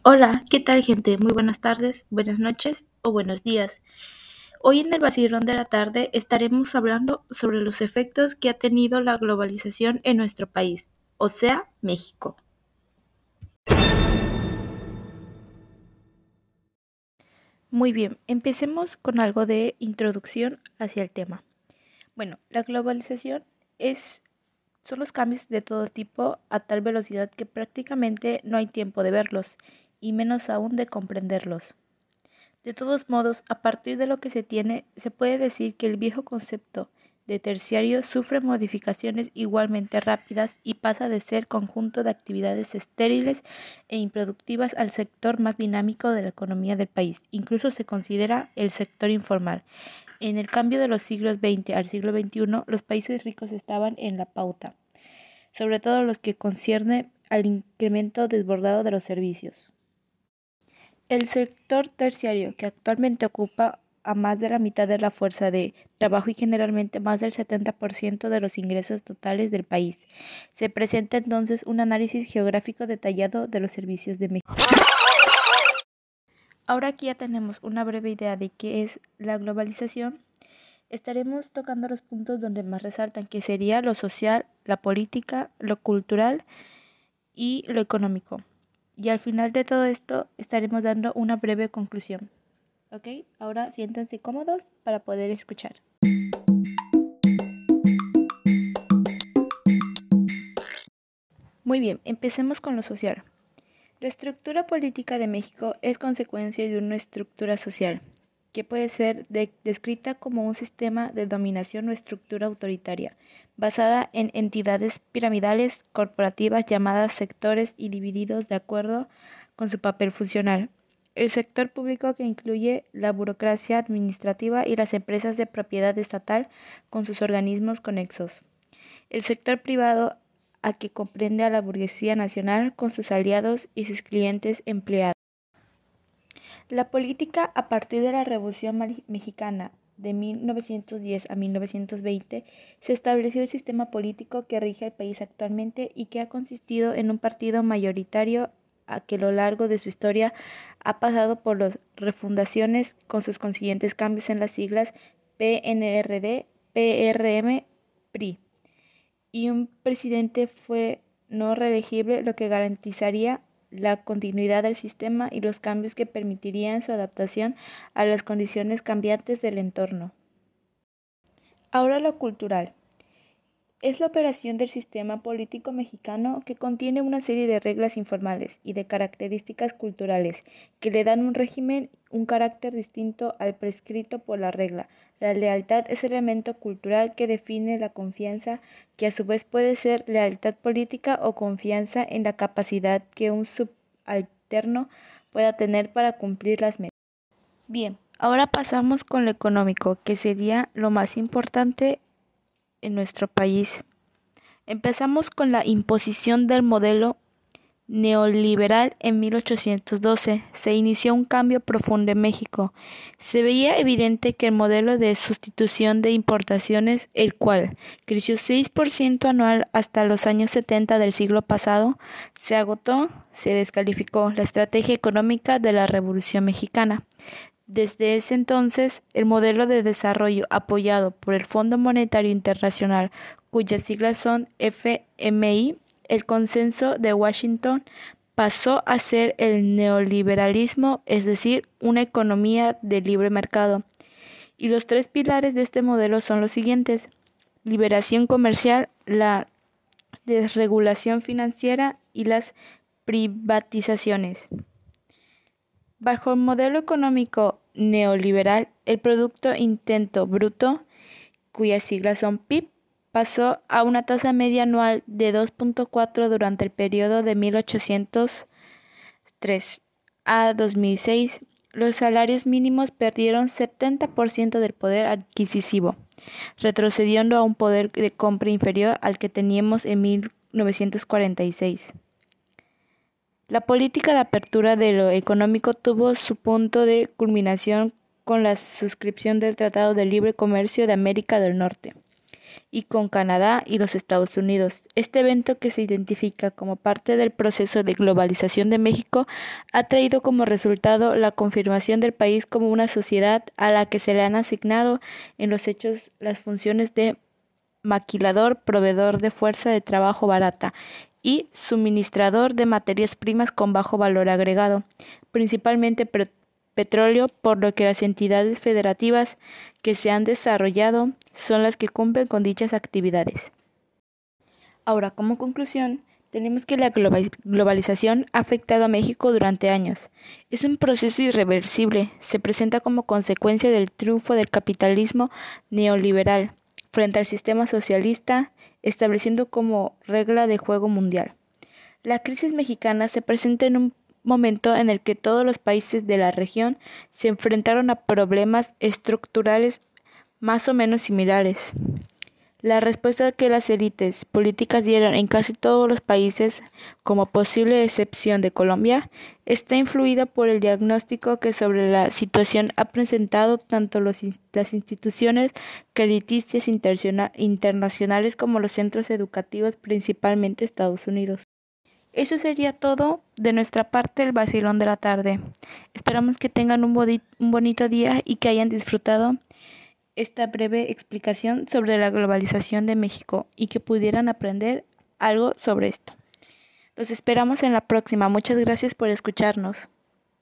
Hola, ¿qué tal gente? Muy buenas tardes, buenas noches o buenos días. Hoy en el vacilón de la tarde estaremos hablando sobre los efectos que ha tenido la globalización en nuestro país, o sea, México. Muy bien, empecemos con algo de introducción hacia el tema. Bueno, la globalización son los cambios de todo tipo a tal velocidad que prácticamente no hay tiempo de verlos, y menos aún de comprenderlos. De todos modos, a partir de lo que se tiene, se puede decir que el viejo concepto de terciario sufre modificaciones igualmente rápidas y pasa de ser conjunto de actividades estériles e improductivas al sector más dinámico de la economía del país. Incluso se considera el sector informal. En el cambio de los siglos XX al siglo XXI, los países ricos estaban en la pauta, sobre todo los que concierne al incremento desbordado de los servicios. El sector terciario, que actualmente ocupa a más de la mitad de la fuerza de trabajo y generalmente más del 70% de los ingresos totales del país. Se presenta entonces un análisis geográfico detallado de los servicios de México. Ahora que ya tenemos una breve idea de qué es la globalización, estaremos tocando los puntos donde más resaltan, que sería lo social, la política, lo cultural y lo económico. Y al final de todo esto estaremos dando una breve conclusión. ¿Ok? Ahora siéntense cómodos para poder escuchar. Muy bien, empecemos con lo social. La estructura política de México es consecuencia de una estructura social, que puede ser descrita como un sistema de dominación o estructura autoritaria, basada en entidades piramidales corporativas llamadas sectores y divididos de acuerdo con su papel funcional. El sector público, que incluye la burocracia administrativa y las empresas de propiedad estatal con sus organismos conexos. El sector privado, a que comprende a la burguesía nacional con sus aliados y sus clientes empleados. La política, a partir de la Revolución Mexicana de 1910 a 1920, se estableció el sistema político que rige el país actualmente y que ha consistido en un partido mayoritario a que a lo largo de su historia ha pasado por las refundaciones con sus consiguientes cambios en las siglas PNRD, PRM, PRI. Y un presidente fue no reelegible, lo que garantizaría la continuidad del sistema y los cambios que permitirían su adaptación a las condiciones cambiantes del entorno. Ahora lo cultural. Es la operación del sistema político mexicano que contiene una serie de reglas informales y de características culturales que le dan un régimen, un carácter distinto al prescrito por la regla. La lealtad es el elemento cultural que define la confianza, que a su vez puede ser lealtad política o confianza en la capacidad que un subalterno pueda tener para cumplir las metas. Bien, ahora pasamos con lo económico, que sería lo más importante en nuestro país. Empezamos con la imposición del modelo neoliberal en 1812. Se inició un cambio profundo en México. Se veía evidente que el modelo de sustitución de importaciones, el cual creció 6% anual hasta los años 70 del siglo pasado, se agotó, se descalificó la estrategia económica de la Revolución Mexicana. Desde ese entonces, el modelo de desarrollo apoyado por el Fondo Monetario Internacional, cuyas siglas son FMI, el Consenso de Washington, pasó a ser el neoliberalismo, es decir, una economía de libre mercado. Y los tres pilares de este modelo son los siguientes: liberación comercial, la desregulación financiera y las privatizaciones. Bajo el modelo económico neoliberal, el Producto Interno Bruto, cuyas siglas son PIB, pasó a una tasa media anual de 2.4 durante el periodo de 1803 a 2006. Los salarios mínimos perdieron 70% del poder adquisitivo, retrocediendo a un poder de compra inferior al que teníamos en 1946. La política de apertura de lo económico tuvo su punto de culminación con la suscripción del Tratado de Libre Comercio de América del Norte. y con Canadá y los Estados Unidos. Este evento, que se identifica como parte del proceso de globalización de México, ha traído como resultado la confirmación del país como una sociedad a la que se le han asignado en los hechos las funciones de maquilador, proveedor de fuerza de trabajo barata y suministrador de materias primas con bajo valor agregado, principalmente petróleo, por lo que las entidades federativas que se han desarrollado son las que cumplen con dichas actividades. Ahora, como conclusión, tenemos que la globalización ha afectado a México durante años. Es un proceso irreversible, se presenta como consecuencia del triunfo del capitalismo neoliberal frente al sistema socialista, estableciendo como regla de juego mundial. La crisis mexicana se presenta en un momento en el que todos los países de la región se enfrentaron a problemas estructurales más o menos similares. La respuesta que las élites políticas dieron en casi todos los países, como posible excepción de Colombia, está influida por el diagnóstico que sobre la situación ha presentado tanto las instituciones crediticias internacionales como los centros educativos, principalmente Estados Unidos. Eso sería todo de nuestra parte, el vacilón de la tarde. Esperamos que tengan un bonito día y que hayan disfrutado esta breve explicación sobre la globalización de México y que pudieran aprender algo sobre esto. Los esperamos en la próxima. Muchas gracias por escucharnos.